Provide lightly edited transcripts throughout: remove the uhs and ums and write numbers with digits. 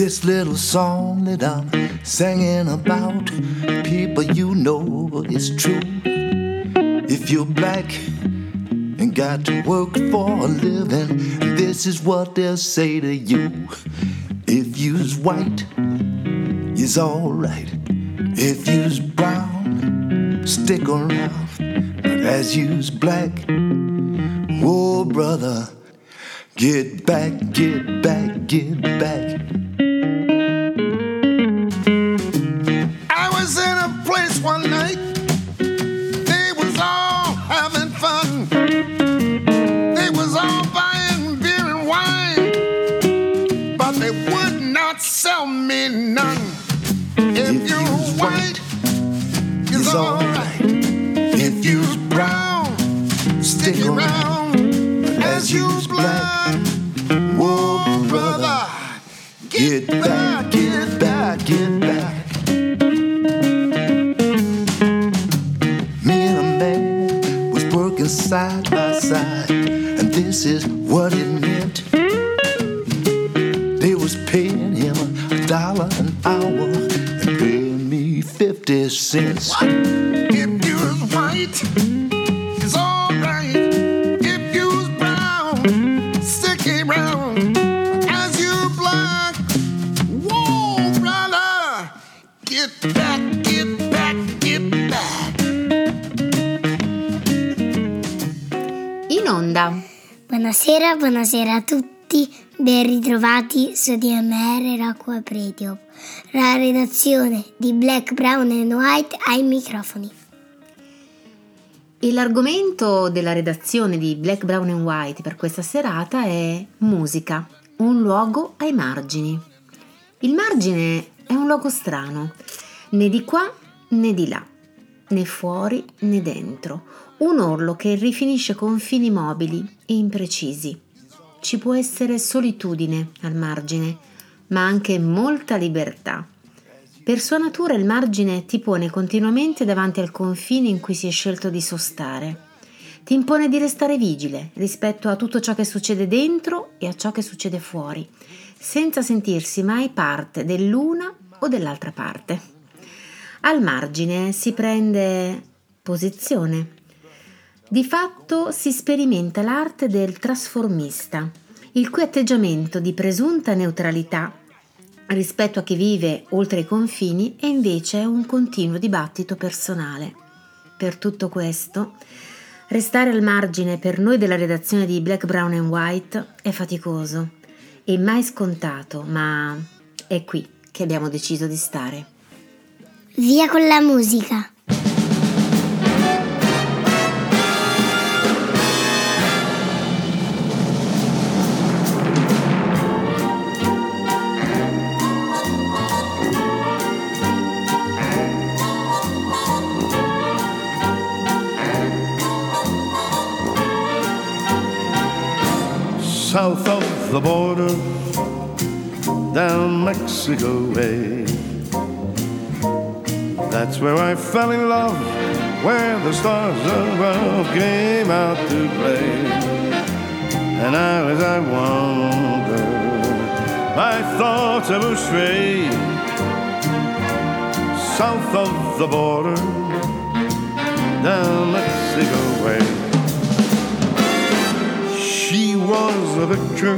This little song that I'm singing about, people, you know it's true. If you're black and got to work for a living, this is what they'll say to you. If you's white, you's alright. If you's brown, stick around. But as you's black, oh brother, get back, get back, get back. I was in a place one night, they was all having fun. They was all buying beer and wine, but they would not sell me none. If you're white, it's alright. If you's brown, stick around. As you's black, whoa brother, get back, get back, get back. Me and a man was working side by side, and this is what it meant. They was paying him $1 an hour and paying me 50 cents. What? If you're white, it's alright. If you're brown, stick around. As you're black, whoa brother, get back, get back, get back. In onda. Buonasera, buonasera a tutti, ben ritrovati su DMR Rock Web Radio, la redazione di Black, Brown and White ai microfoni. E l'argomento della redazione di Black, Brown and White per questa serata è musica, un luogo ai margini. Il margine è un luogo strano, né di qua né di là, né fuori né dentro, un orlo che rifinisce confini mobili e imprecisi. Ci può essere solitudine al margine, ma anche molta libertà. Per sua natura il margine ti pone continuamente davanti al confine in cui si è scelto di sostare. Ti impone di restare vigile rispetto a tutto ciò che succede dentro e a ciò che succede fuori, senza sentirsi mai parte dell'una o dell'altra parte. Al margine si prende posizione. Di fatto si sperimenta l'arte del trasformista, il cui atteggiamento di presunta neutralità rispetto a chi vive oltre i confini è invece un continuo dibattito personale. Per tutto questo, restare al margine per noi della redazione di Black, Brown and White è faticoso e mai scontato, ma è qui che abbiamo deciso di stare. Via con la musica! South of the border, down Mexico way. That's where I fell in love, where the stars above came out to play. And now as I wander, my thoughts ever stray. South of the border, down Mexico way. She was a picture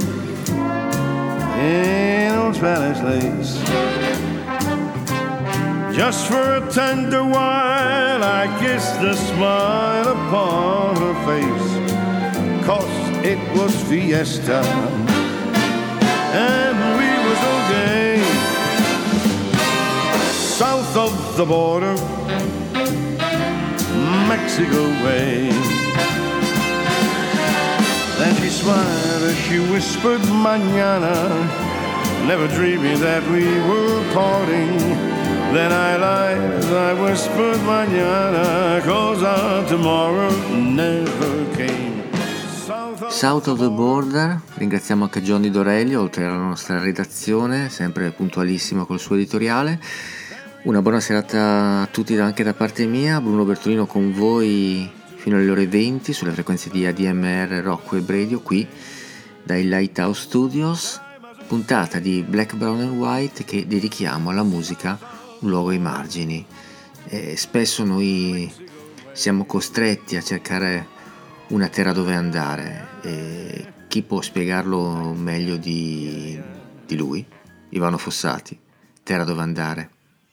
in old Spanish lace. Just for a tender while I kissed the smile upon her face, 'cause it was fiesta and we were so gay. South of the border, Mexico way. Then she smiled as she whispered mañana, never dreaming that we were parting. Then I lied as I whispered mañana, 'cause our tomorrow never came. South of the Border, ringraziamo anche Johnny Dorelli, oltre alla nostra redazione, sempre puntualissimo col suo editoriale. Una buona serata a tutti anche da parte mia, Bruno Bertolino con voi fino alle ore 20 sulle frequenze di ADMR Rock Web Radio, qui dai Lighthouse Studios. puntata di Black, Brown and White che dedichiamo alla musica un luogo ai margini. Spesso noi siamo costretti a cercare una terra dove andare, e chi può spiegarlo meglio di lui? Ivano Fossati, Terra dove andare.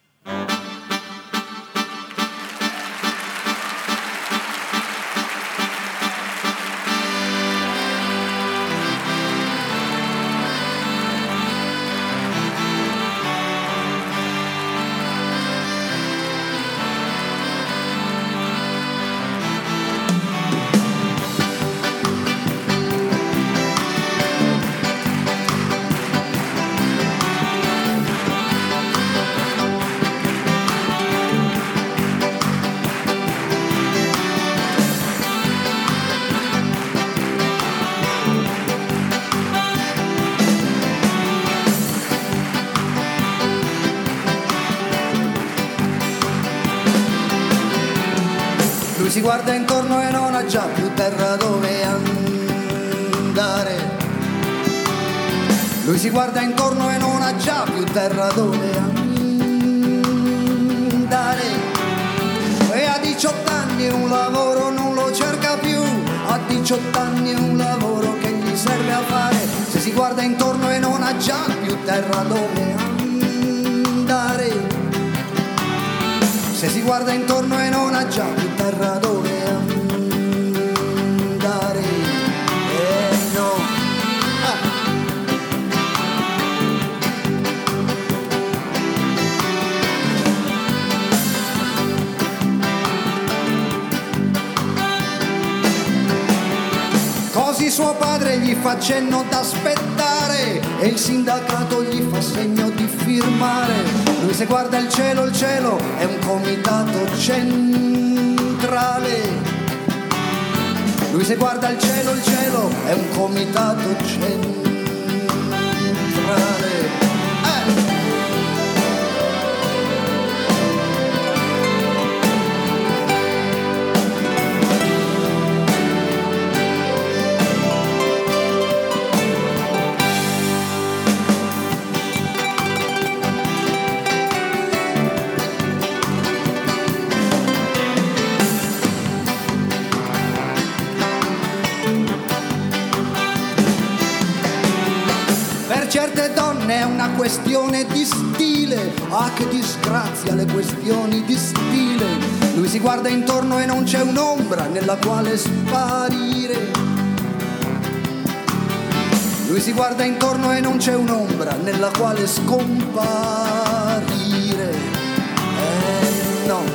Si guarda intorno e non ha già più terra dove andare. Lui si guarda intorno e non ha già più terra dove andare. E a 18 anni un lavoro non lo cerca più, a 18 anni un lavoro che gli serve a fare. Se si guarda intorno e non ha già più terra dove andare. Se si guarda intorno e non ha già più terra dove andare, no. Così suo padre gli fa cenno d'aspettare e il sindacato gli fa segno di firmare. Lui se guarda il cielo è un comitato centrale. Lui se guarda il cielo è un comitato centrale. Certe donne è una questione di stile, ah che disgrazia le questioni di stile. Lui si guarda intorno e non c'è un'ombra nella quale sparire. Lui si guarda intorno e non c'è un'ombra nella quale scomparire. No.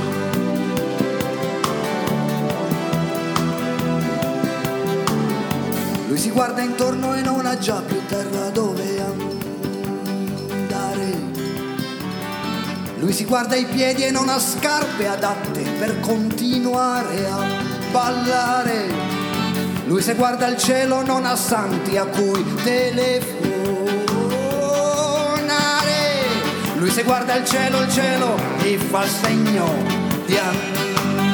Lui si guarda intorno e non ha già più terra dove andare. Lui si guarda i piedi e non ha scarpe adatte per continuare a ballare. Lui se guarda il cielo non ha santi a cui telefonare. Lui se guarda il cielo gli fa segno di andare.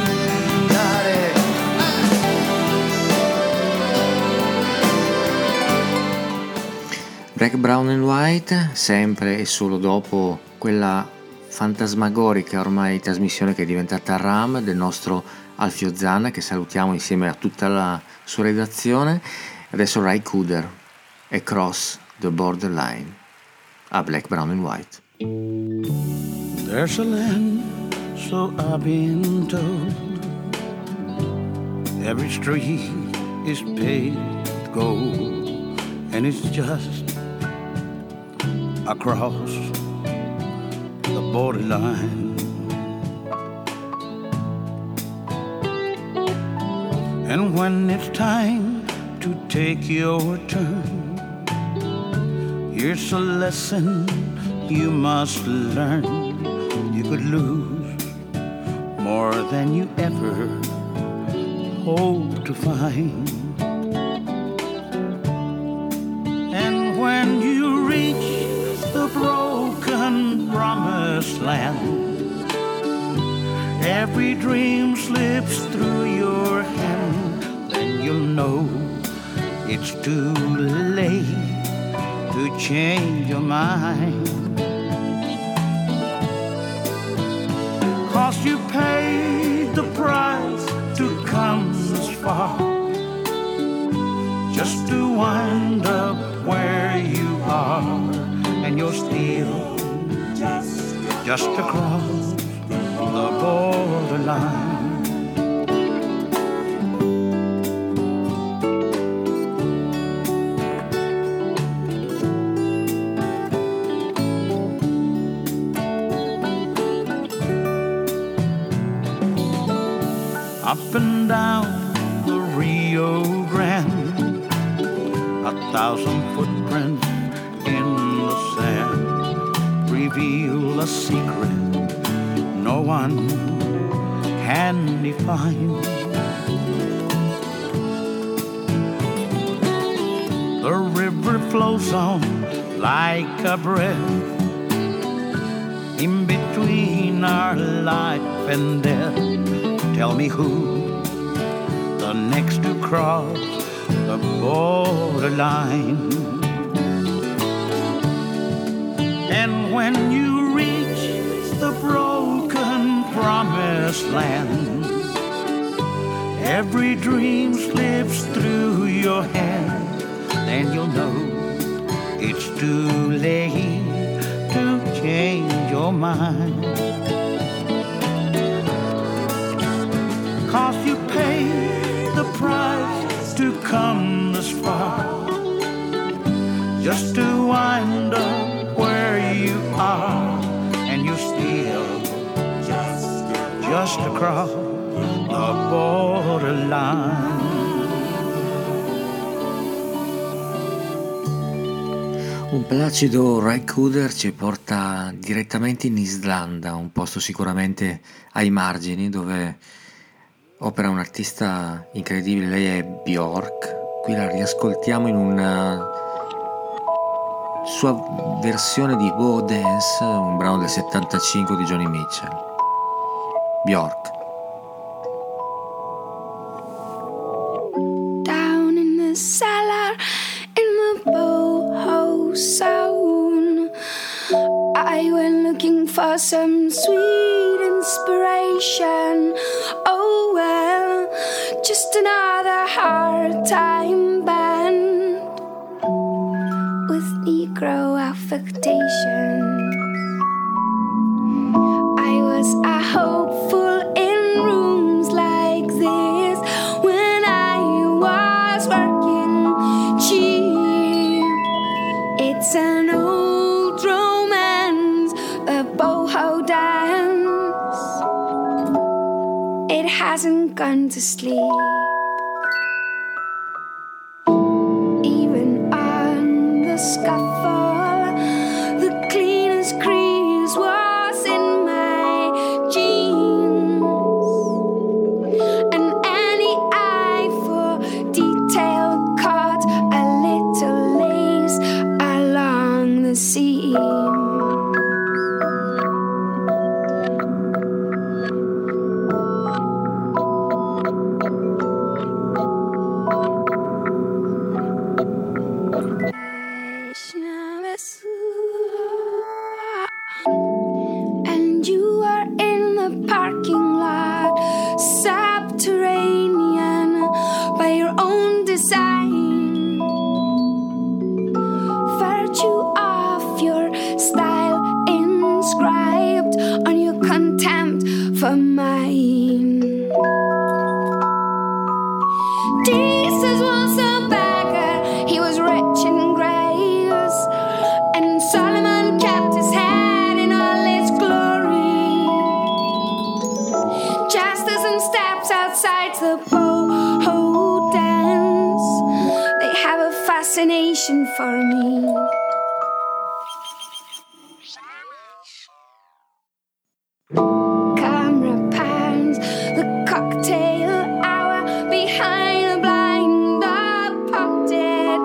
Black, Brown and White, sempre e solo dopo quella fantasmagorica ormai trasmissione che è diventata RAM del nostro Alfio Zanna, che salutiamo insieme a tutta la sua redazione. Adesso Ry Cooder, Across the Borderline, a Black, Brown and White. There's a land, so I've been told, every street is paved with gold, and it's just across the borderline. And when it's time to take your turn, here's a lesson you must learn. You could lose more than you ever hope to find. And when you reach the broken promised land, every dream slips through your hand, then you'll know it's too late to change your mind. 'Cause you paid the price to come this far, just to wind up where you are, and you're still just across the borderline. Up and down the Rio Grande, 1,000 footprints in the sand reveal a secret no one can define. The river flows on like a breath in between our life and death. Tell me who the next to cross the borderline. And when you reach the broken promised land, every dream slips through your hand, then you'll know it's too late to change your mind. 'Cause you paid the price to come this far, just to wind up where you are, and you're still just across the borderline. Un placido Ry Cooder ci porta direttamente in Islanda, un posto sicuramente ai margini dove opera un'artista incredibile. Lei è Björk. Qui la riascoltiamo in una sua versione di Bo Dance, un brano del 75 di Joni Mitchell. Björk. Down in the cellar in the boho zone, I went looking for some sweet inspiration. Oh well, just another hard time band with Negro affectations. I was a hopeful in rooms like this when I was working cheap. It's an old romance, the boho dance. It hasn't gone to sleep. Even on the scuffle, the cleanest crease was in my jeans. And any eye for detail caught a little lace along the seam. And you are in the parking lot, subterranean by your own design. Virtue of your style inscribed on your contempt for mine. Jesus was a beggar, he was rich in grace, and Solomon kept his head in all its glory. Just as in steps outside the boho dance, they have a fascination for me. Camera pans the cocktail hour behind the blind of potted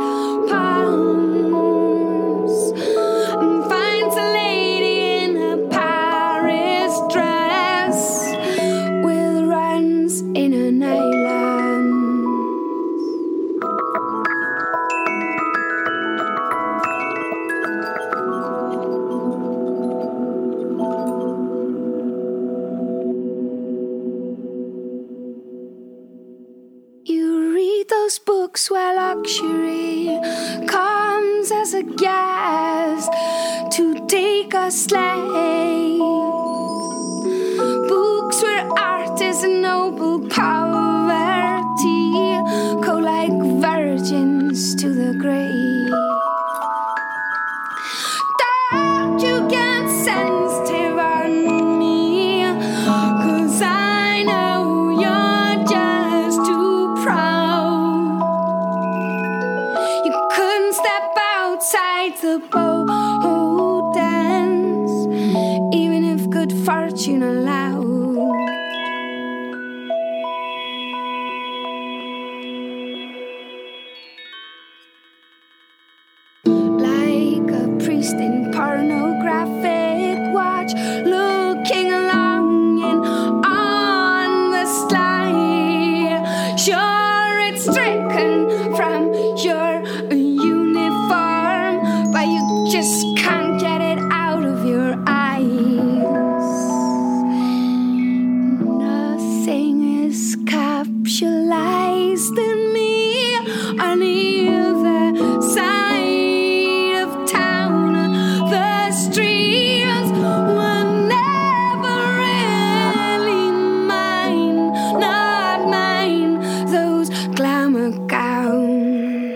palms, and finds a lady in a Paris dress with runs in a nylon. those books where luxury comes as a guest to take a slave. Books where art is a noble poverty, go like virgins to the grave. Don't you get sensitive on me, 'cause I know you're just too proud. You couldn't step outside the boat dance, even if good fortune allowed. Like a priest in pornographic watch, looking longing on the sly. Sure, it's stricken from your uniform, but you just can't get it out of your eyes. Nothing is capsulized in me on either side of town. The streets were never really mine, not mine, those glamour gowns.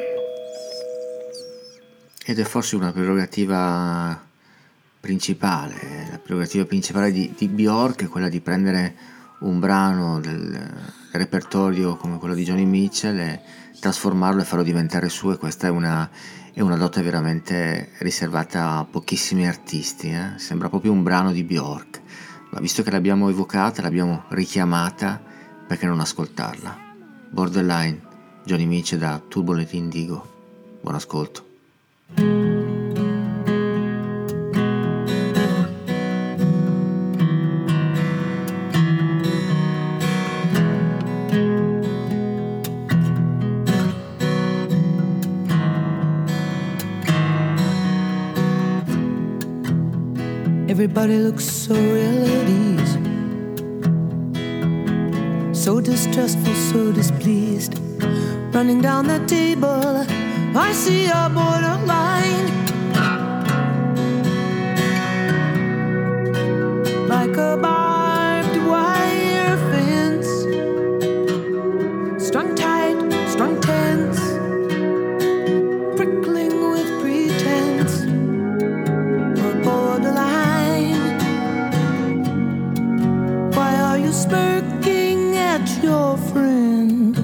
Ed è forse una prerogativa principale, la prerogativa principale di Bjork è quella di prendere un brano del repertorio come quello di Joni Mitchell e trasformarlo e farlo diventare suo, e questa è una dote veramente riservata a pochissimi artisti, Sembra proprio un brano di Bjork, ma visto che l'abbiamo evocata, l'abbiamo richiamata, perché non ascoltarla? Borderline, Joni Mitchell da Turbulent Indigo. Buon ascolto. Everybody looks so real at ease, so distrustful, so displeased. Running down the table, I see a borderline, like a barbed wire fence, strung tight, strung tense, prickling with pretense. A borderline. Why are you smirking at your friend?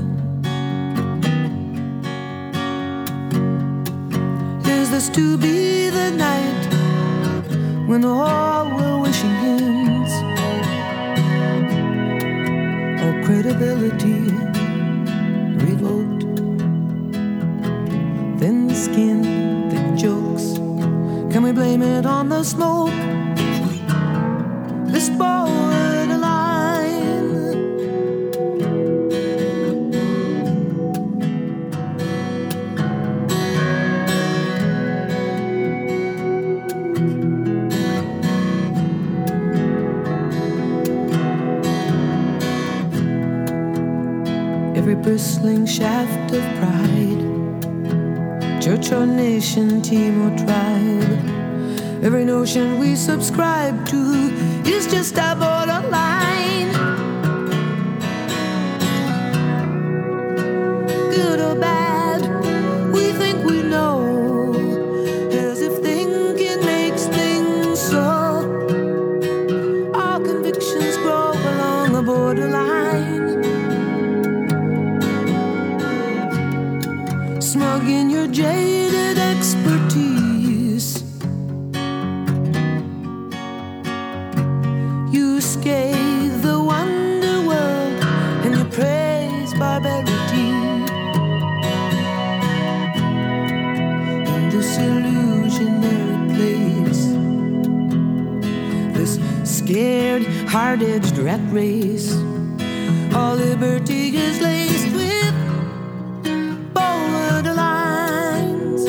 Is this to be the night when all we're wishing ends? Or credibility revoked? Thin skin, thick jokes, can we blame it on the smoke? This borderline. Every bristling shaft of pride, church or nation, team or tribe, every notion we subscribe to is just a borderline. Good or bad, we think we know, as if thinking makes things so. All convictions grow along the borderline. Smug in your jaded expertise, you scathe the wonder world and you praise barbarity. In this illusionary place, this scared, hard-edged rat race, all liberty is laced with borderlines.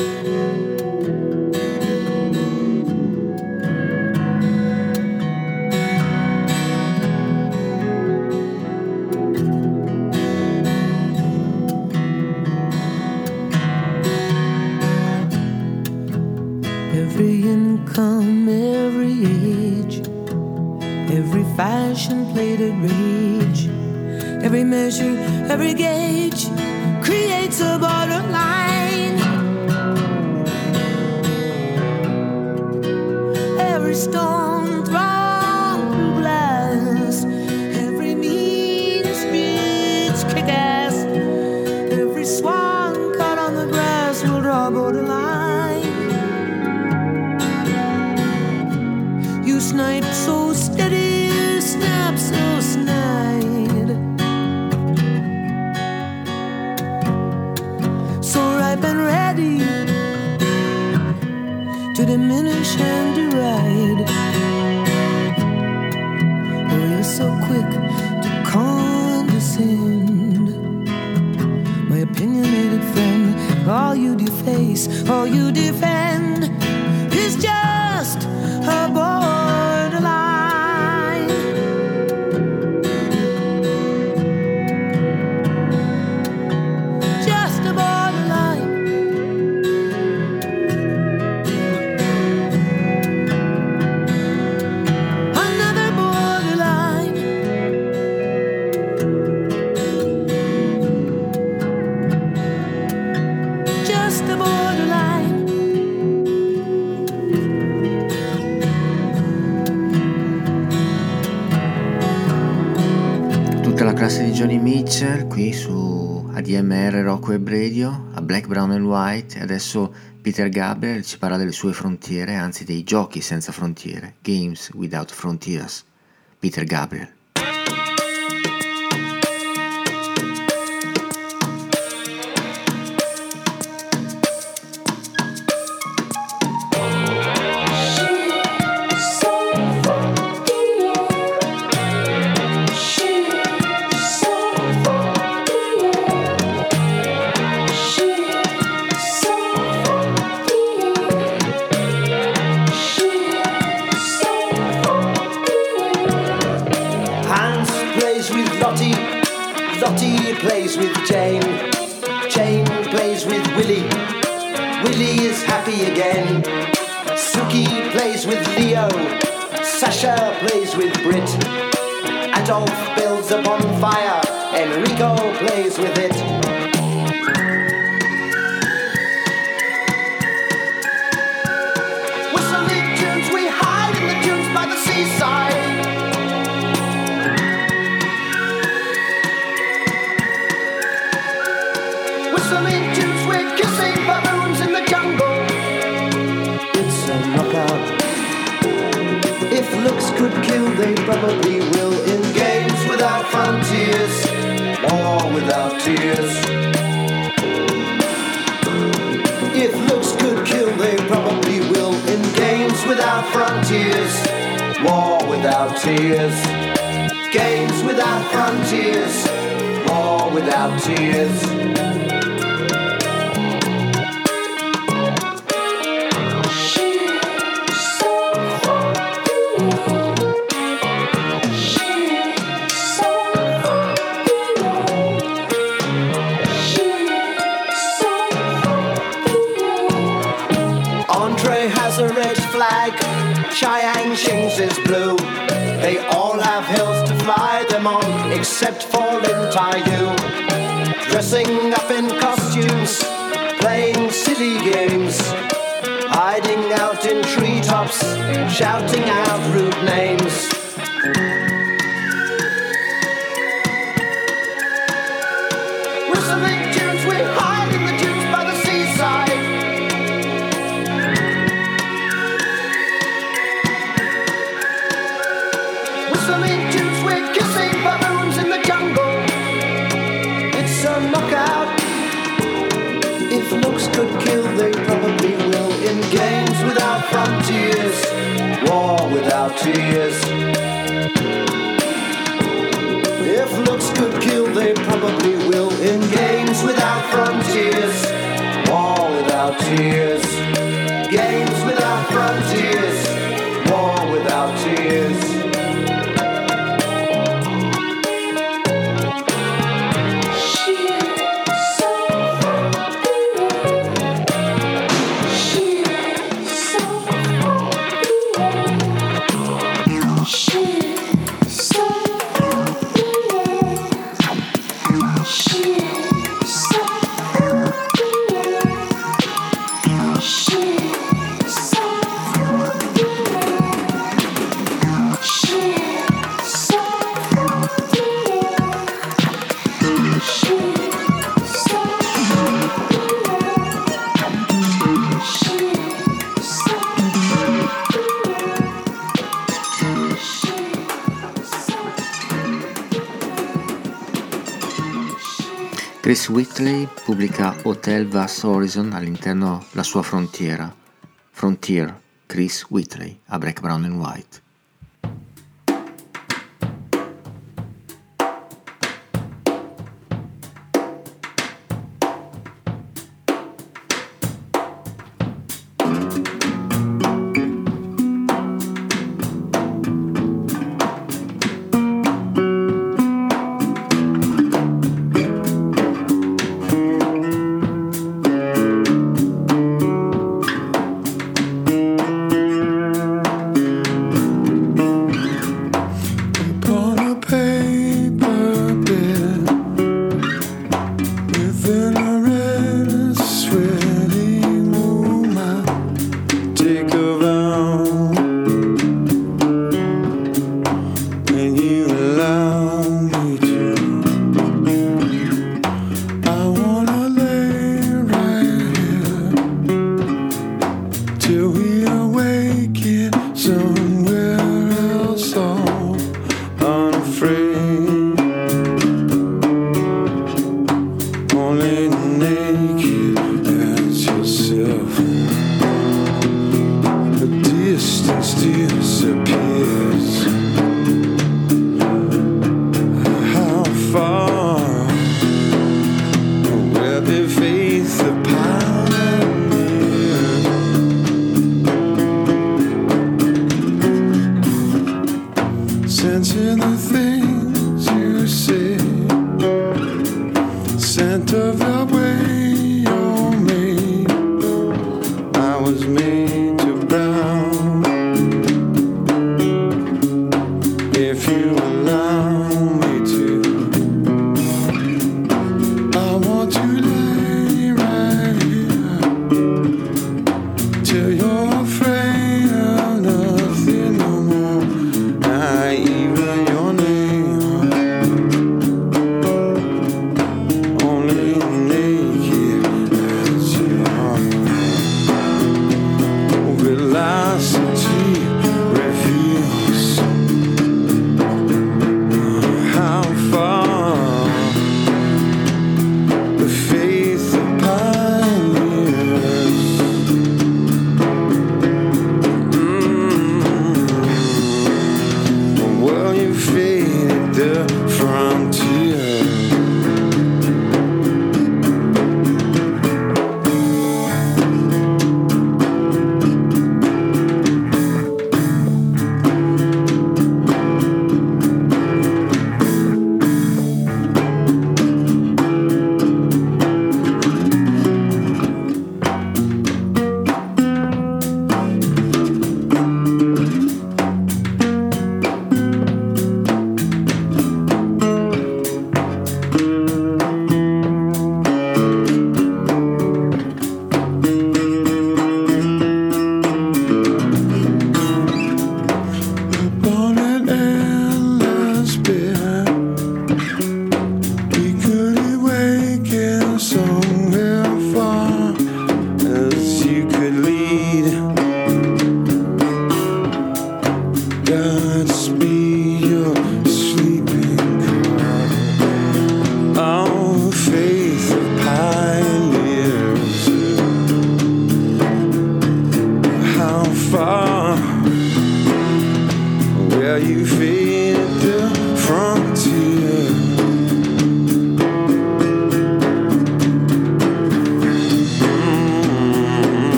passion-plated rage. Every measure, every gauge creates a borderline. Every stone thrown through glass, every mean speech kick-ass, every swan caught on the grass will draw a borderline. You snipe so steady, snap so snide, so ripe and ready to diminish and deride. Oh, you're so quick to condescend, my opinionated friend. All you deface, all you defend is just a borderline. Just a borderline. Another borderline. Just a borderline. Tutta la classe di Johnny Mitchell qui su ADMR Rock Web Radio, a Black, Brown and White, e adesso Peter Gabriel ci parla delle sue frontiere, anzi dei giochi senza frontiere, Games Without Frontiers. Peter Gabriel. Hans plays with Lottie, Lottie plays with Jane, Jane plays with Willie, Willie is happy again. Suki plays with Leo, Sasha plays with Brit, Adolf builds a bonfire, Enrico plays with it. Whistling tunes, we hide in the dunes by the seaside. Whistling tunes, we're kissing baboons in the jungle. It's a knockout. If looks could kill, they probably will. In games without frontiers, war without tears. If looks could kill, they probably will. In games without frontiers, war without tears. Games without frontiers, war without tears. Andre has a red flag, Cheyenne Shings is blue. They all have hills to fly them on, except for Lin Tai-yu. Dressing up in costumes, playing silly games, hiding out in treetops, shouting out rude names. Whistling tunes, we hide in the dunes by the seaside. Whistling tunes, we're kissing baboons in the jungle. It's a knockout. If looks could kill, they probably will. In games without frontiers, war without tears. If looks could kill, they probably will. In games without frontiers, war without tears. Games without frontiers, war without tears. So Chris Whitley pubblica Hotel Vast Horizon all'interno la sua frontiera. Frontier, Chris Whitley, a Black, Brown and White. Only naked.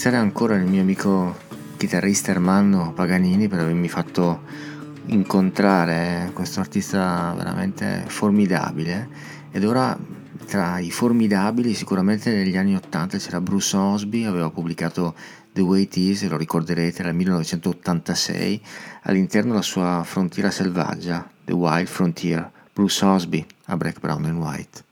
ringraziare ancora il mio amico chitarrista Ermanno Paganini per avermi fatto incontrare questo artista veramente formidabile. Ed ora, tra i formidabili, sicuramente negli anni 80 c'era Bruce Osby, aveva pubblicato The Way It Is, lo ricorderete, era il 1986, all'interno della sua Frontiera selvaggia, The Wild Frontier. Bruce Osby a Black, Brown and White.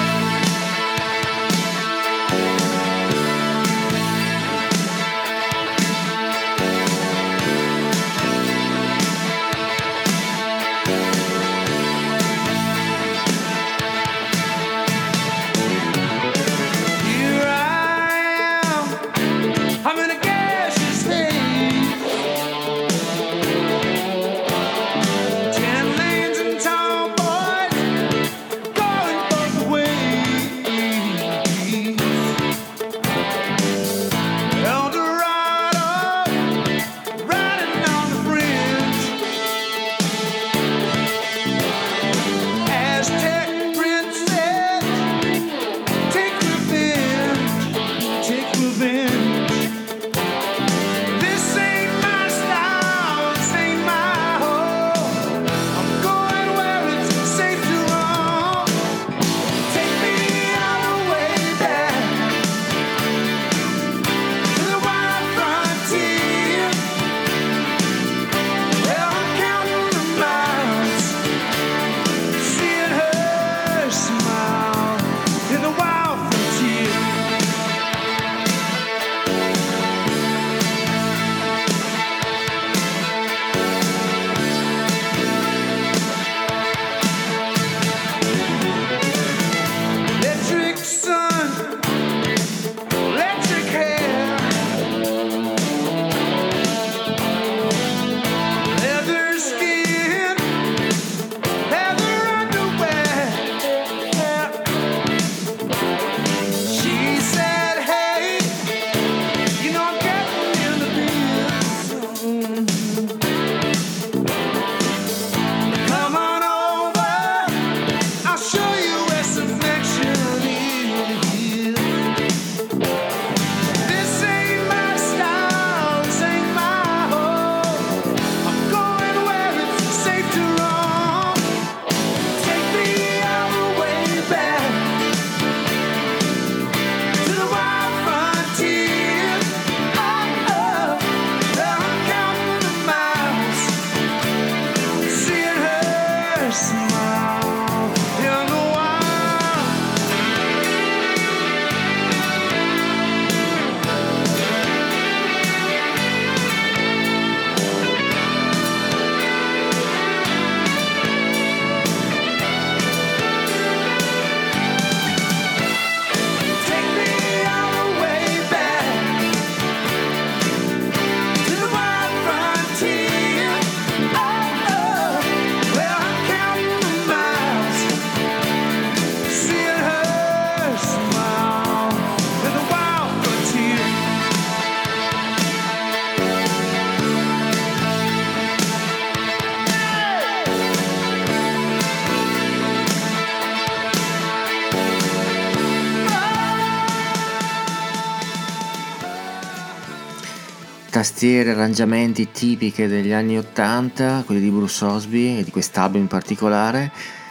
Tastiere, arrangiamenti tipiche degli anni 80, quelli di Bruce Osby e di quest'album in particolare,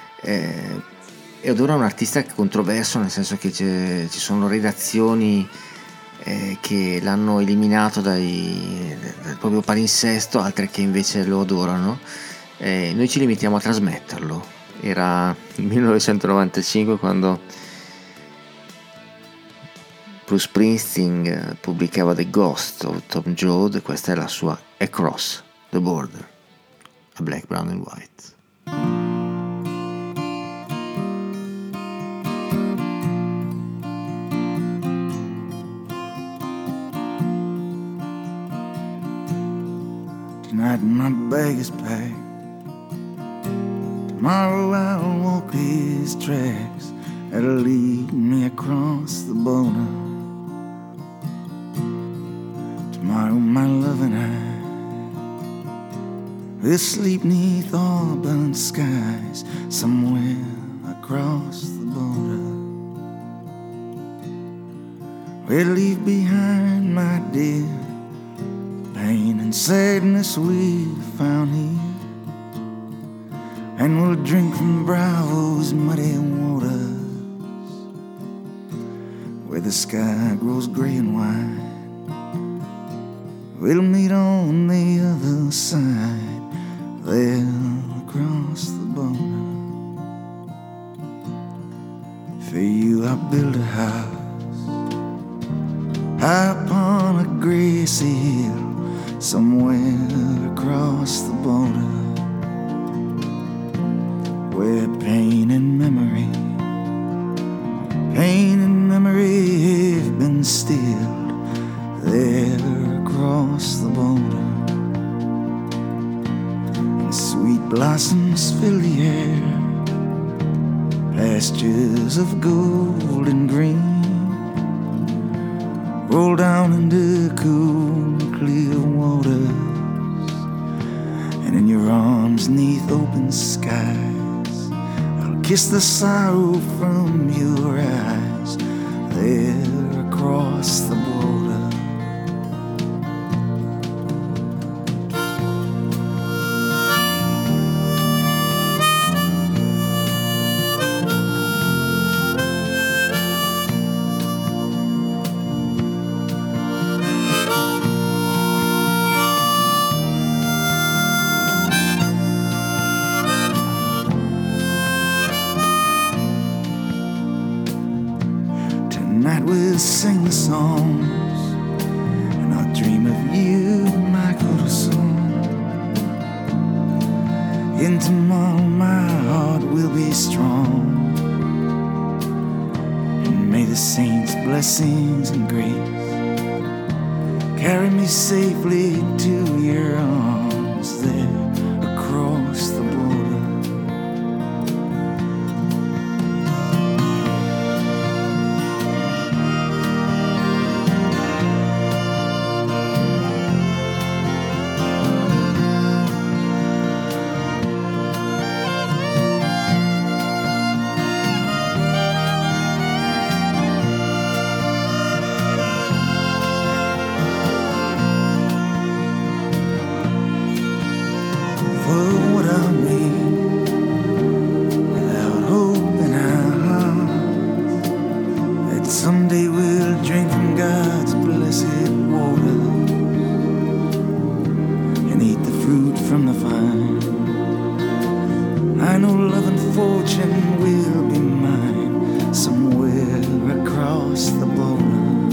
ed ora un artista controverso, nel senso che ci sono redazioni che l'hanno eliminato dal proprio palinsesto, altre che invece lo adorano. Noi ci limitiamo a trasmetterlo. Era il 1995 quando Bruce Springsteen pubblicava The Ghost of Tom Joad, questa è la sua Across the Border, a Black, Brown and White. Tonight my bag is packed. Tomorrow I'll walk these tracks that'll lead me across the border. Tomorrow my love and I will sleep neath auburn skies somewhere across the border. We'll leave behind, my dear, pain and sadness we found here, and we'll drink from Bravo's muddy waters, where the sky grows gray and white. We'll meet on the other side, there across the border. For you I built a house high upon a grassy hill, somewhere across the border, where pain and memory have been stilled, there across the border. And sweet blossoms fill the air, pastures of gold and green roll down into cool, clear waters, and in your arms neath open skies, I'll kiss the sorrow from your eyes, there across the border. Tonight we'll sing the songs, and I'll dream of you, my corazon. In tomorrow my heart will be strong, and may the saints' blessings and grace carry me safely to your arms, there across the border. Someday we'll drink from God's blessed water and eat the fruit from the vine. I know love and fortune will be mine, somewhere across the border.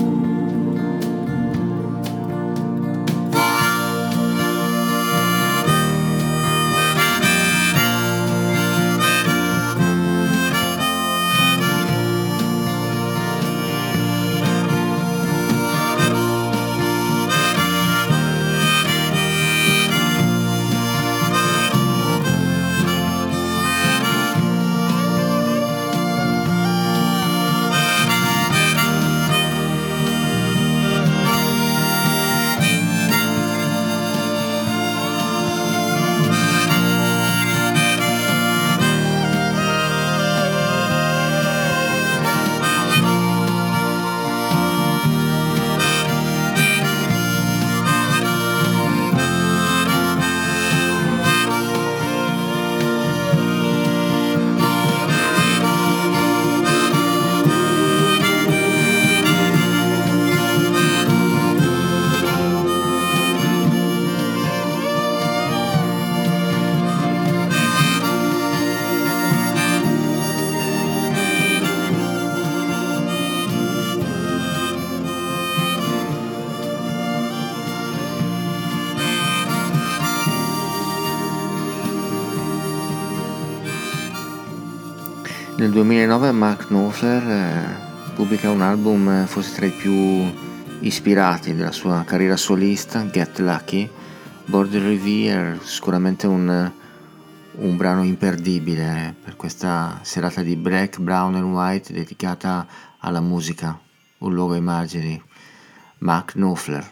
Nel 2009 Mark Knopfler pubblica un album forse tra i più ispirati della sua carriera solista, Get Lucky. Border Riviere, sicuramente un brano imperdibile per questa serata di Black, Brown and White dedicata alla musica, un luogo ai margini. Mark Knopfler.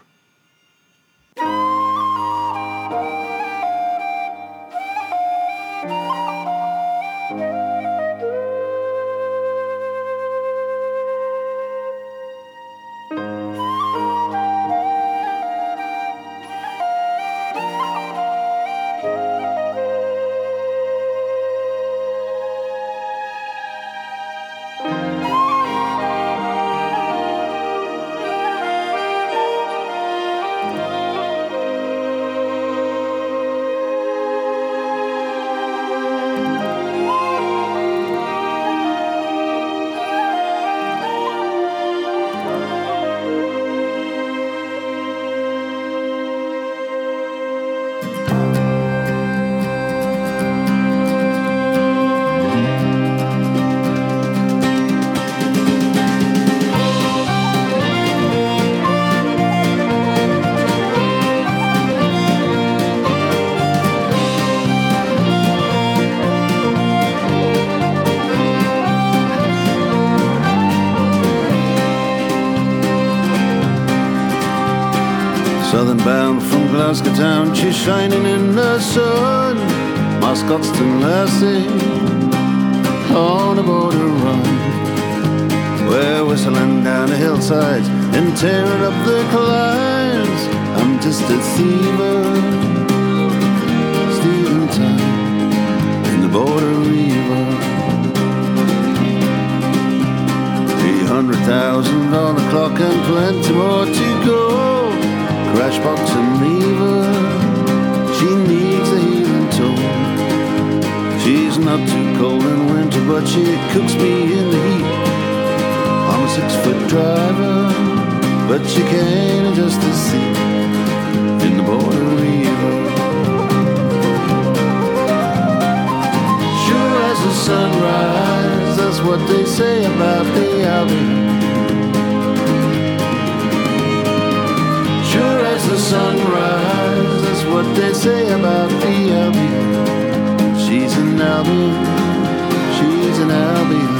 Southern bound from Glasgow town, she's shining in the sun. My Scotstoun lassie on a border run. We're whistling down the hillsides and tearing up the climbs. I'm just a thiever, stealing time in the border river. 300,000 on the clock and plenty more to go. Crash box and lever, she needs a healing toe. She's not too cold in winter, but she cooks me in the heat. I'm a 6-foot driver, but she can't adjust the seat in the border river. Sure as the sunrise, that's what they say about the Albion. Sure as the sunrise, that's what they say about the Albion. She's an Albion, she's an Albion.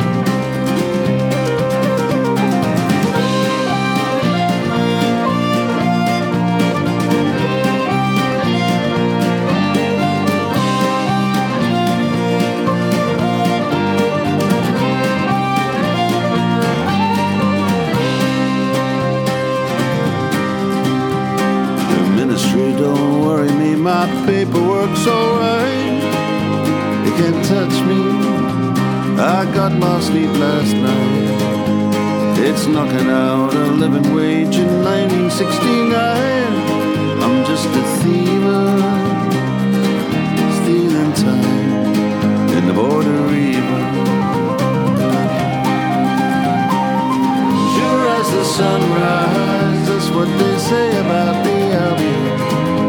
Don't worry me, my paperwork's alright. You can't touch me, I got my sleep last night. It's knocking out a living wage in 1969. I'm just a thiever, stealing time in the border river. Sure as the sunrise, that's what they say about the Albion.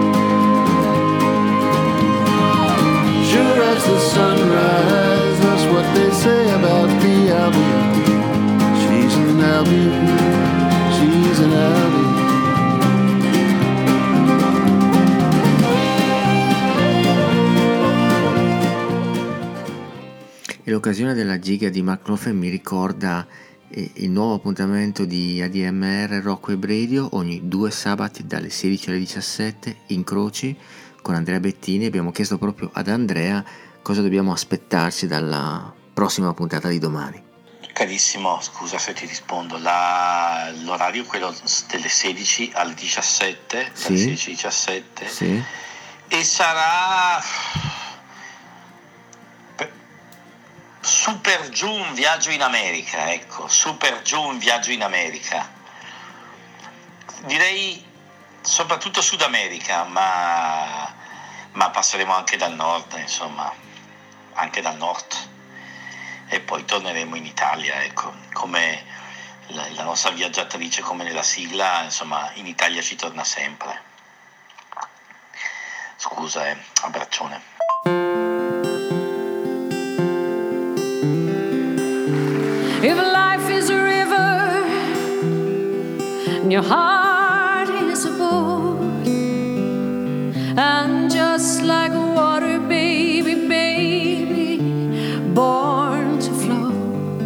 Sure as the sunrise, that's what they say about the Albion. She's an Albion, she's an Albion. E l'occasione della giga di Mark Knopfler mi ricorda il nuovo appuntamento di ADMR Rocco Web Radio ogni 2 sabati dalle 16 alle 17 in Croci con Andrea Bettini. Abbiamo chiesto proprio ad Andrea cosa dobbiamo aspettarci dalla prossima puntata di domani. Carissimo, scusa se ti rispondo, l'orario è quello delle 16 alle 17, sì, dalle 16 alle 17, sì, e sarà super giù un viaggio in America, ecco, super giù un viaggio in America, direi soprattutto Sud America, ma passeremo anche dal nord, insomma, anche dal nord, e poi torneremo in Italia, ecco, come la nostra viaggiatrice, come nella sigla, insomma, in Italia ci torna sempre. Scusa, abbraccione. If life is a river and your heart is a boat, and just like a water baby, baby, born to float.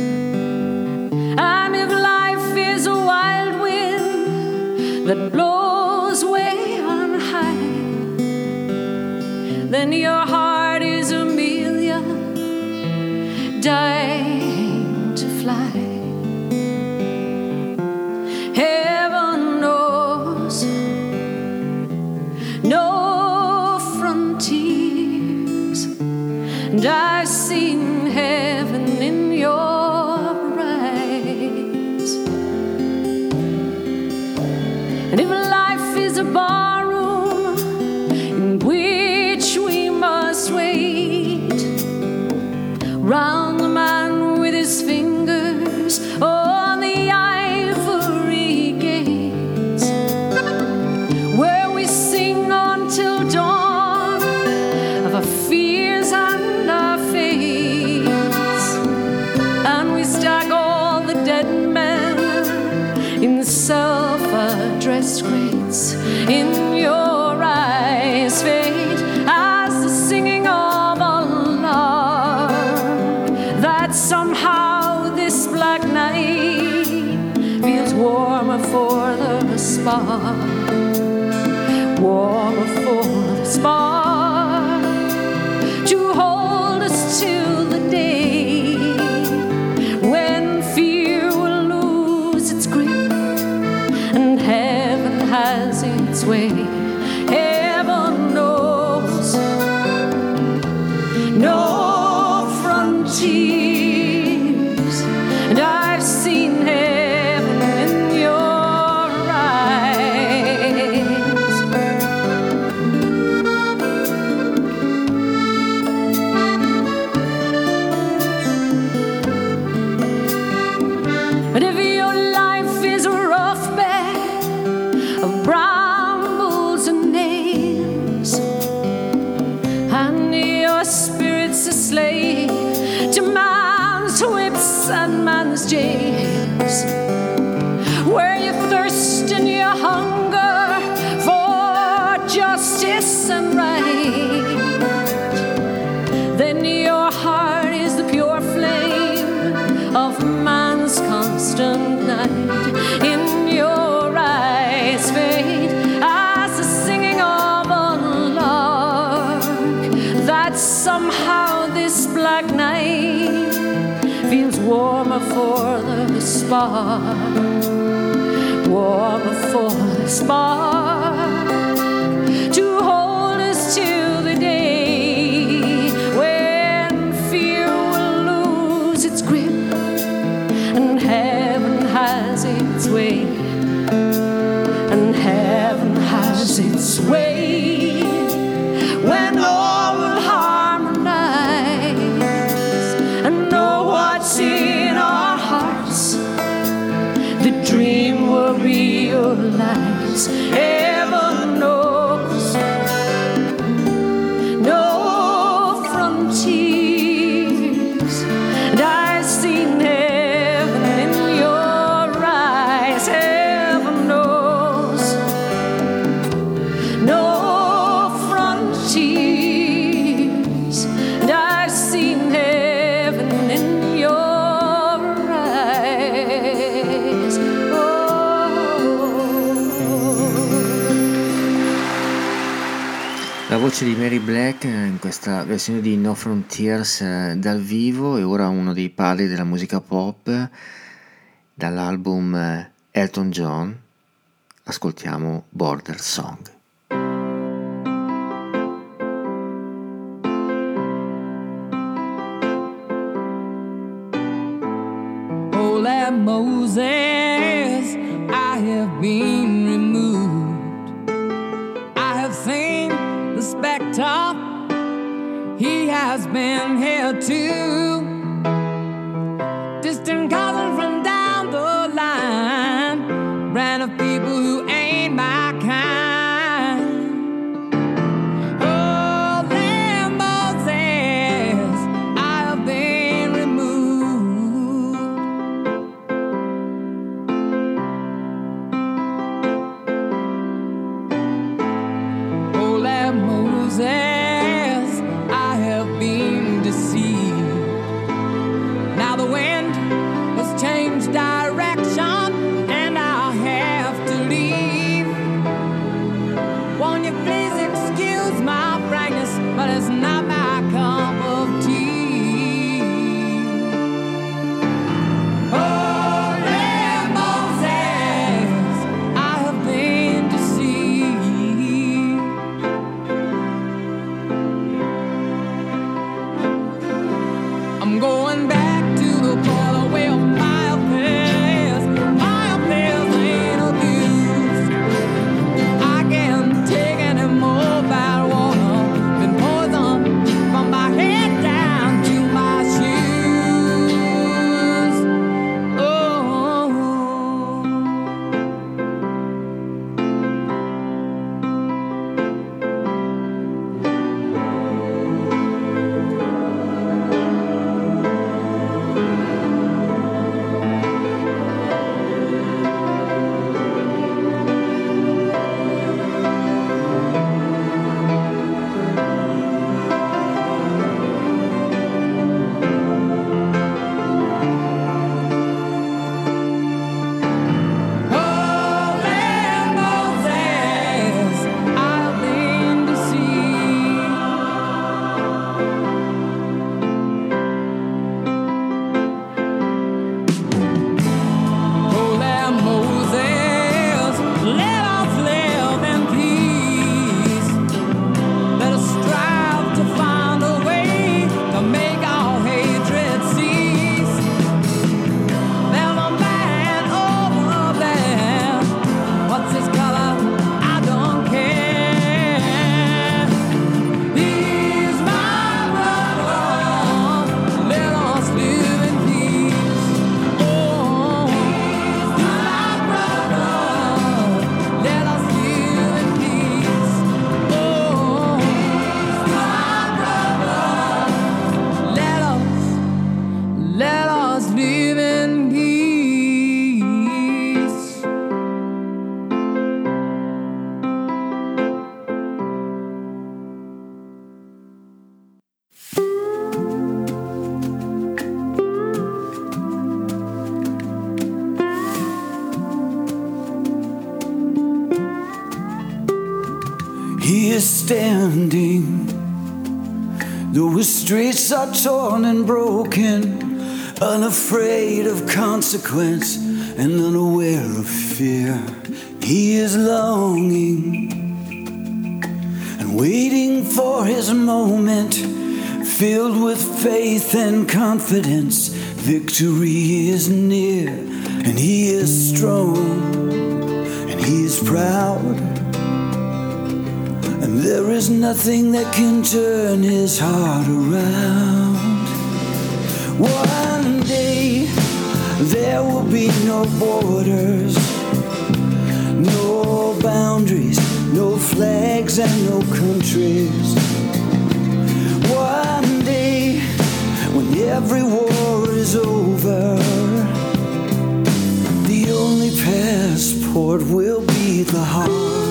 And if life is a wild wind that blows way on high, then your heart is a million dying to fly. Heaven knows no frontiers, and I've seen heaven in your eyes. And if life is a barroom in which we must wait round the man with his fingers on the ivory gates, where we sing until dawn of our fears and our fates, and we stack all the dead men in self-addressed crates. In your eyes fade as the singing of alarm, that somehow this black night feels warmer for the spark, warmer for the spark, to hold us till the day when fear will lose its grip and heaven has its way. Heaven knows no frontiers, and I've seen heaven in your eyes. But if your life is a rough bed of brambles and nails, and your spirit's a slave to man's whips and man's jails, where you thirst and you hunger for justice and right, then your heart is the pure flame of man's constant night. In your eyes fade as the singing of a lark, that somehow this black night feels warmer for the spark, warmer for the spark, to hold us till the day when fear will lose its grip and heaven has its way, and heaven has its way, when all will harmonize and know what's in our hearts. The dream will realize. Heaven knows no frontiers, and I've seen heaven in your eyes. Heaven knows no frontiers, and I've seen heaven in your eyes. La voce di Mary Black in questa versione di No Frontiers dal vivo, e ora uno dei padri della musica pop, dall'album Elton John, ascoltiamo Border Song. Oh, like Moses, I have been removed. I have seen the spectre, he has been here too. Distant cousins from down the line, brand of people who ain't my kind. Oh, like Moses, I have been removed. Oh, like Moses, I have been deceived. He is standing, though his streets are torn and broken, unafraid of consequence and unaware of fear. He is longing and waiting for his moment, filled with faith and confidence. Victory is near, and he is strong, and he is proud, and there is nothing that can turn his heart around. One day there will be no borders, no boundaries, no flags and no countries. One day when every war is over, the only passport will be the heart.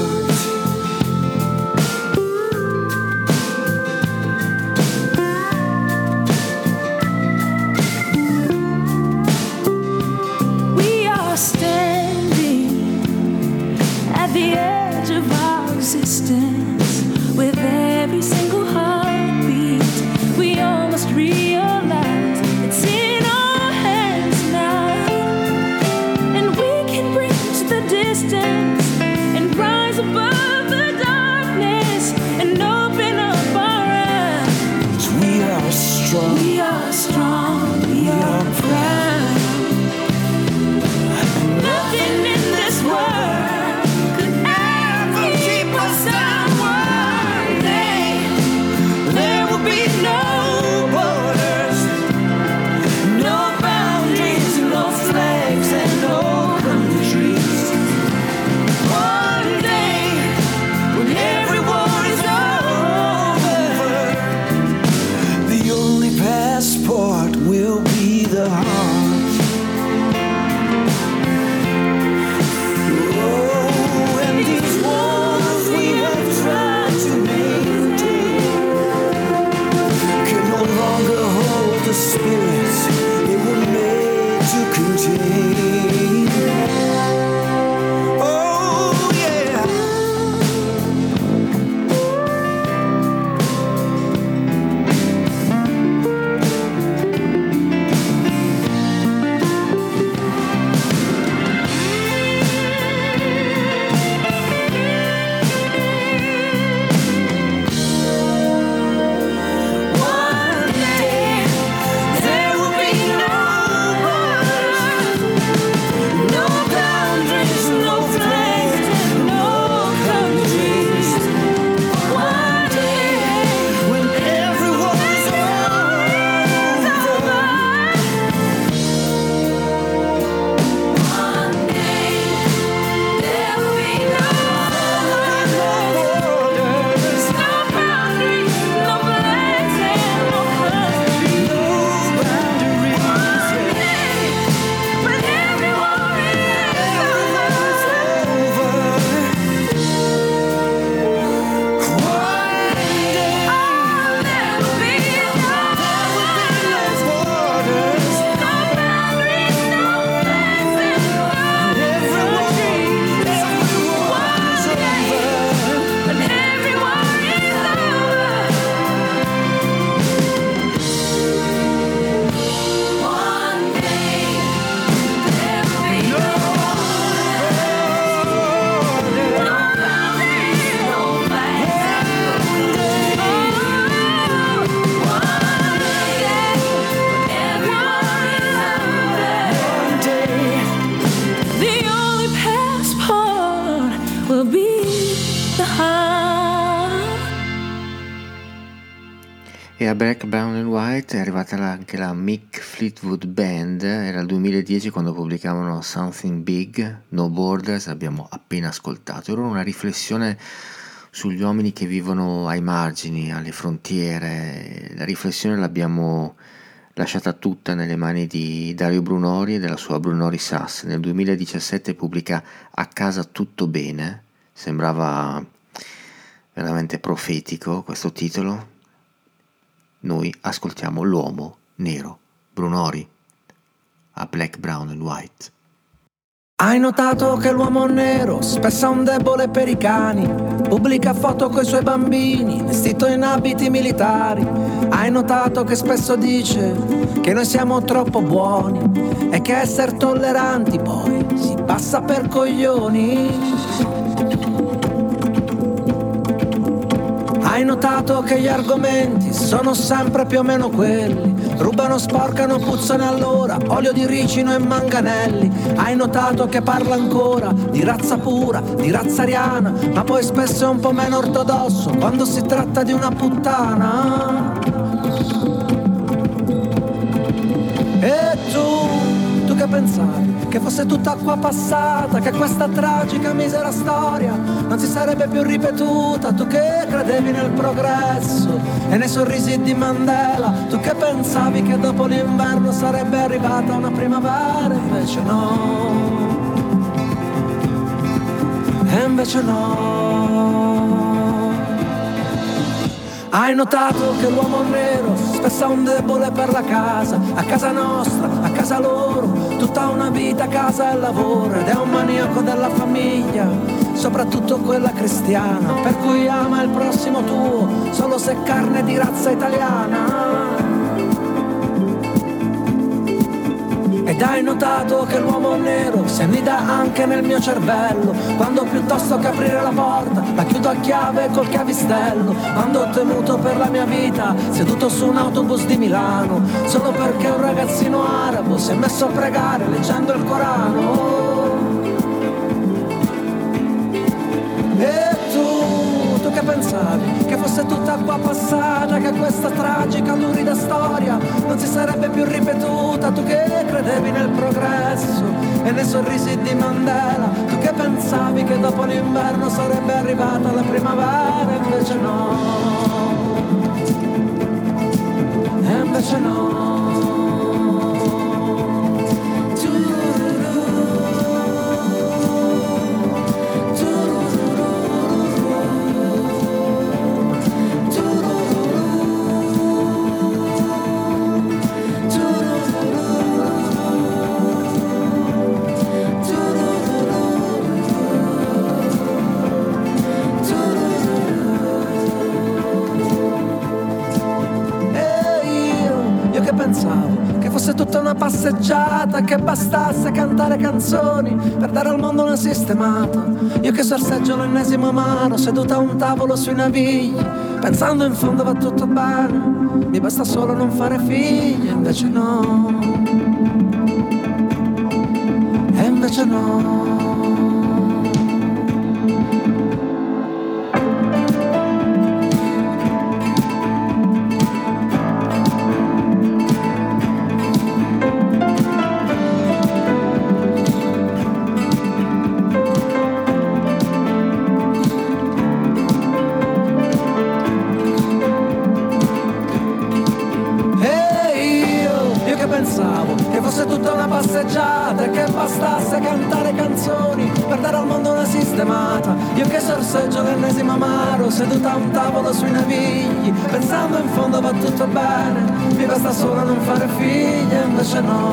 We are standing at the edge of our existence. With every single heartbeat, we all must realize it's in our hands now, and we can bridge the distance and rise above the darkness and open up our eyes. We are strong, we are strong, we are proud. Nothing in this world could ever keep us down. One day there will be no borders, no boundaries, no flags and no countries. One day when every war is over, the only passport will be the heart. Oh, and these walls we have tried to maintain can no longer hold the spirits they were made to contain. Oh, yeah. one day there will be no borders, no boundaries, no flags, no countries. One day When everyone is over, one day there will be no borders, no boundaries, no flags and no countries. When everyone is there will be no borders, no boundaries, no flags and no countries. When everyone is one day there will be no boundaries, no flags. One day the only passport will be the heart. E a Black, Brown and White è arrivata anche la Mick Fleetwood Band. Era il 2010 quando pubblicavano Something Big, No Borders, abbiamo appena ascoltato. Era una riflessione sugli uomini che vivono ai margini, alle frontiere. La riflessione l'abbiamo lasciata tutta nelle mani di Dario Brunori e della sua Brunori Sass. Nel 2017 pubblica A casa tutto bene, sembrava veramente profetico questo titolo. Noi ascoltiamo l'uomo nero, Brunori, a Black, Brown and White. Hai notato che l'uomo nero spesso è un debole per i cani, pubblica foto coi suoi bambini vestito in abiti militari. Hai notato che spesso dice che noi siamo troppo buoni e che essere tolleranti poi si passa per coglioni. Hai notato che gli argomenti sono sempre più o meno quelli: rubano, sporcano, puzzano allora, olio di ricino e manganelli. Hai notato che parla ancora di razza pura, di razza ariana, ma poi spesso è un po' meno ortodosso quando si tratta di una puttana. E tu che pensavi? Che fosse tutta acqua passata, che questa tragica misera storia non si sarebbe più ripetuta. Tu che credevi nel progresso e nei sorrisi di Mandela, tu che pensavi che dopo l'inverno sarebbe arrivata una primavera, invece no. E invece no. Hai notato che l'uomo nero spesso è un debole per la casa, a casa nostra, a casa loro, tutta una vita, casa e lavoro, ed è un maniaco della famiglia, soprattutto quella cristiana, per cui ama il prossimo tuo solo se carne di razza italiana. Ed hai notato che l'uomo nero si annida anche nel mio cervello, quando piuttosto che aprire la porta la chiudo a chiave col chiavistello, quando ho temuto per la mia vita seduto su un autobus di Milano, solo perché un ragazzino arabo si è messo a pregare leggendo il Corano. E tu che pensavi? Che fosse tutta acqua passata, che questa tragica, lurida storia non si sarebbe più ripetuta. Tu che credevi nel progresso e nei sorrisi di Mandela, tu che pensavi che dopo l'inverno sarebbe arrivata la primavera, invece no. E invece no. Tutta una passeggiata, che bastasse cantare canzoni per dare al mondo una sistemata. Io che sorseggio l'ennesimo amaro seduta a un tavolo sui navigli, pensando in fondo va tutto bene, mi basta solo non fare figli, invece no. E invece no. Che bastasse cantare canzoni per dare al mondo una sistemata. Io che sorseggio l'ennesimo amaro seduta a un tavolo sui navigli, pensando in fondo va tutto bene, mi basta solo non fare figli, e invece no.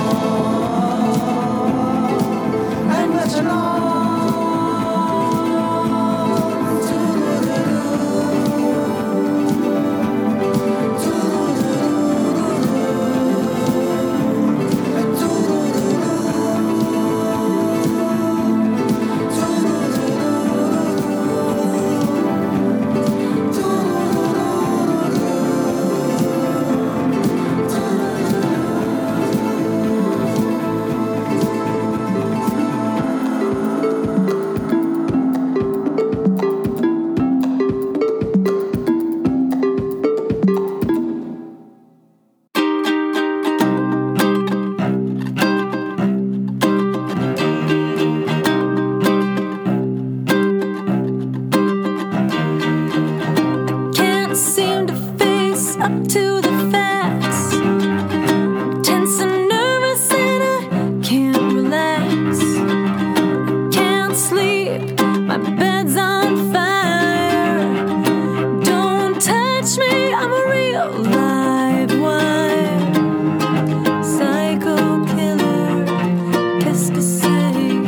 E invece no. Psycho killer, qu'est-ce que c'est?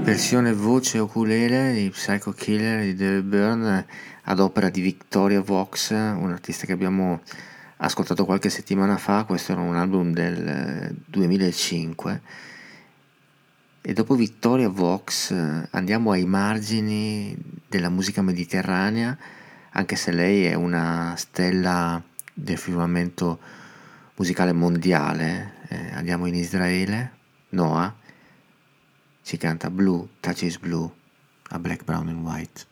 Versione voce ukulele di Psycho Killer di David Byrne ad opera di Victoria Vox, un artista che abbiamo ascoltato qualche settimana fa. Questo era un album del 2005 e dopo Victoria Vox andiamo ai margini della musica mediterranea, anche se lei è una stella del firmamento musicale mondiale. Andiamo in Israele. Noah si canta Blue Touches Blue a Black, Brown and White.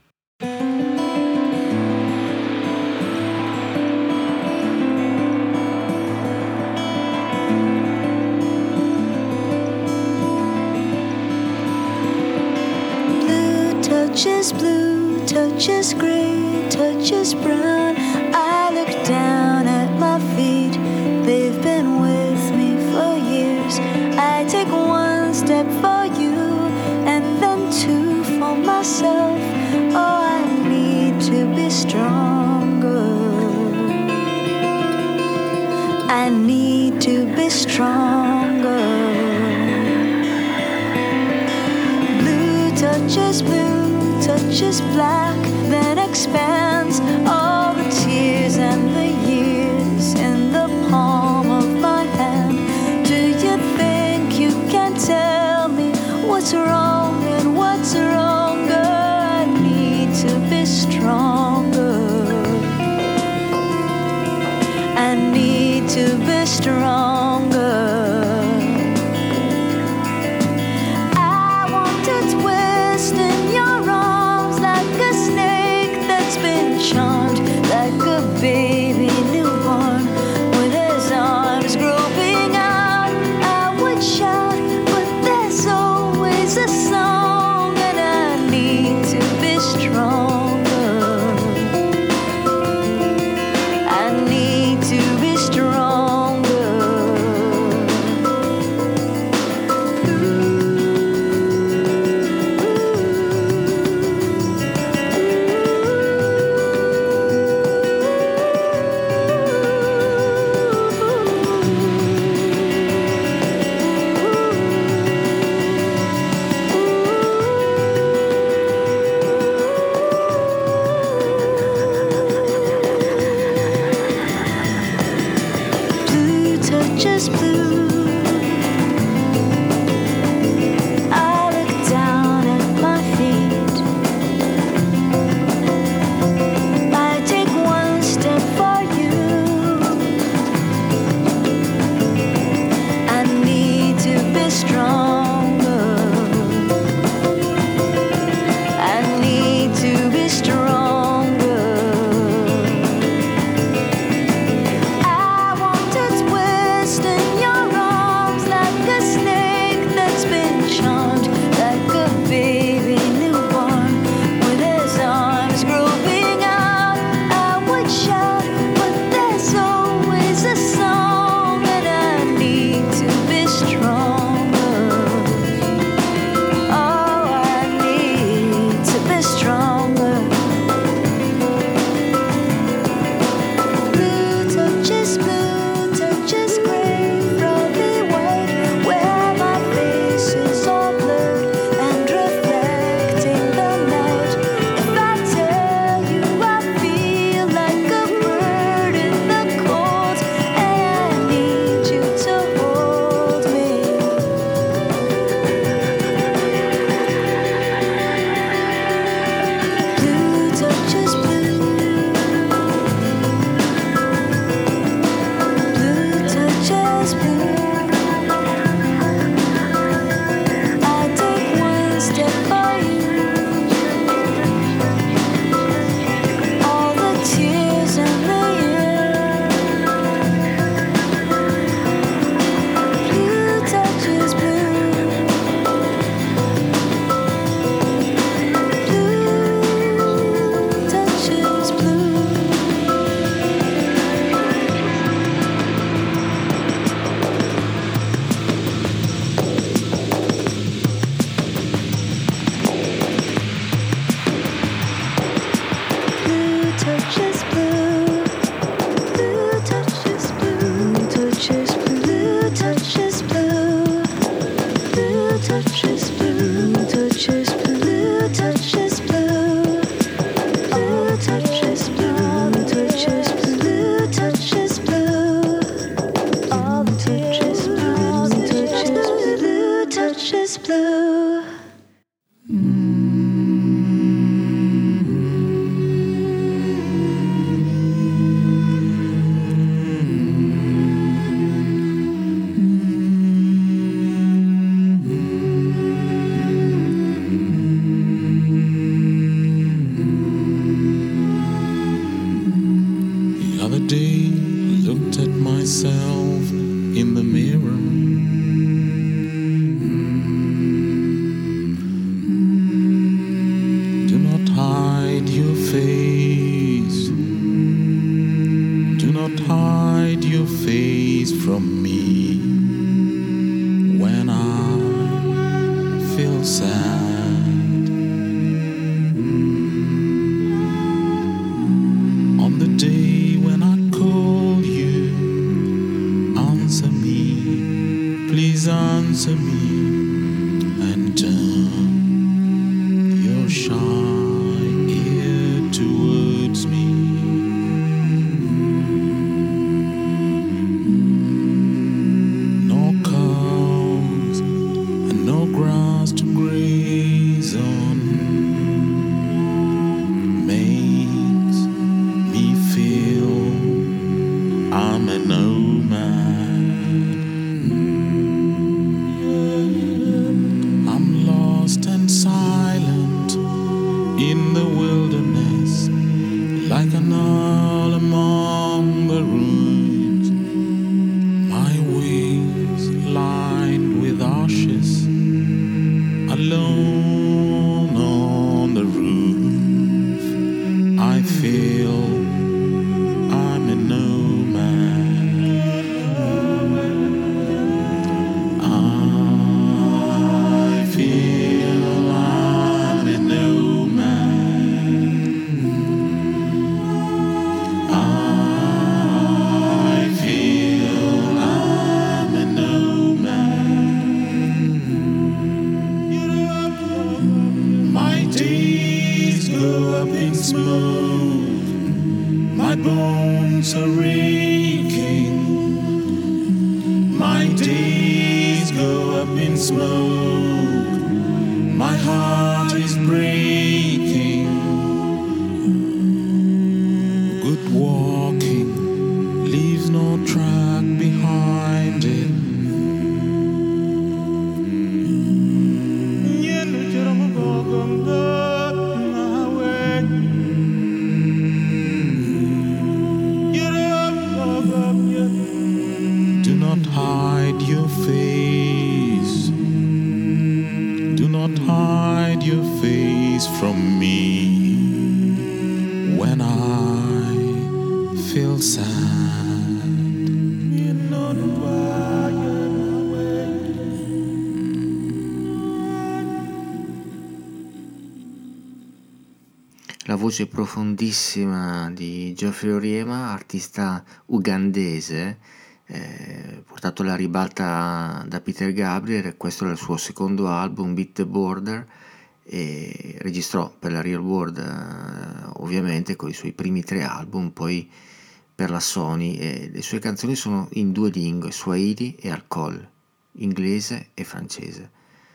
Blue touches blue, touches gray, touches brown. I look down at my feet, they've been with me for years. I take one step for you and then two for myself. Oh, I need to be stronger. I need to be stronger. Blue touches blue, touches black, then expands all the tears and the years in the palm of my hand. Do you think you can tell me what's wrong and what's wronger? I need to be stronger. I need to be stronger. I want to twist in your arms like a snake that's been charmed, like a baby newborn with his arms groping out. I would shout, but there's always a song, and I need to be stronger. I need to be stronger. The other day I looked at myself in the mirror. Do not hide your face. Do not hide your face from me when I feel sad. On the day when I call you, answer me, please answer me, and turn your shy ear towards me. No cows and no grass to graze on makes me feel I'm a nomad. I'm lost and silent in the wilderness, like an owl among the ruins. My wings lined with ashes, alone on the roof. I feel I'm a nomad. I feel I'm a nomad. I feel I'm a nomad. My days go up in smoke. My bones are aching. My days go up in smoke. My heart is breaking. Good walking leaves no track behind it. Do not hide your face. Do not hide your face from me when I feel sad. La voce profondissima di Geoffrey Oryema, artista ugandese, portato alla ribalta da Peter Gabriel, e questo era il suo secondo album, Beat the Border, e registrò per la Real World ovviamente con i suoi primi 3 album, poi per la Sony, e le sue canzoni sono in 2 lingue, Swahili e Alcol, inglese e francese.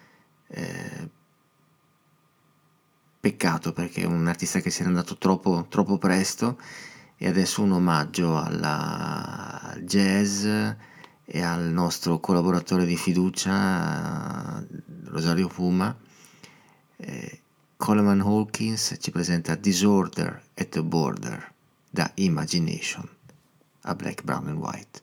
Peccato, perché è un artista che si era andato troppo presto, e adesso un omaggio al jazz e al nostro collaboratore di fiducia Rosario Puma. Coleman Hawkins ci presenta Disorder at the Border da Imagination a Black, Brown and White.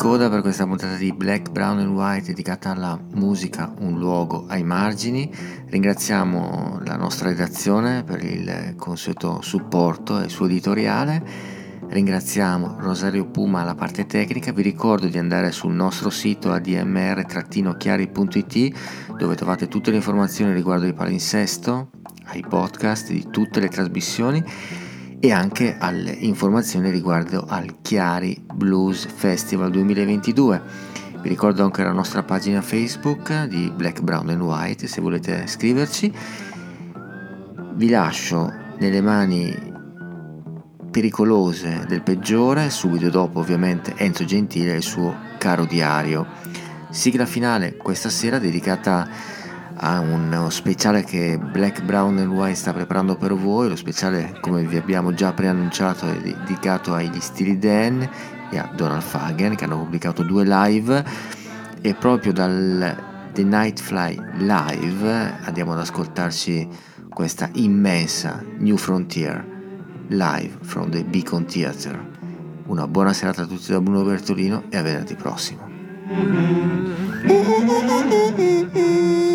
coda per questa puntata di Black, Brown and White dedicata alla musica, un luogo ai margini. Ringraziamo la nostra redazione per il consueto supporto e il suo editoriale. Ringraziamo Rosario Puma alla parte tecnica. Vi ricordo di andare sul nostro sito admr-chiari.it, dove trovate tutte le informazioni riguardo il palinsesto, ai podcast di tutte le trasmissioni e anche alle informazioni riguardo al Chiari Blues Festival 2022. Vi ricordo anche la nostra pagina Facebook di Black, Brown and White se volete scriverci. Vi lascio nelle mani pericolose del peggiore, subito dopo ovviamente Enzo Gentile e il suo Caro Diario. Sigla finale questa sera dedicata a uno speciale che Black, Brown and White sta preparando per voi. Lo speciale, come vi abbiamo già preannunciato, è dedicato agli Steely Dan e a Donald Fagen, che hanno pubblicato 2 live, e proprio dal The Nightfly Live andiamo ad ascoltarci questa immensa New Frontier live from the Beacon Theatre. Una buona serata a tutti da Bruno Bertolino e a venerdì prossimo.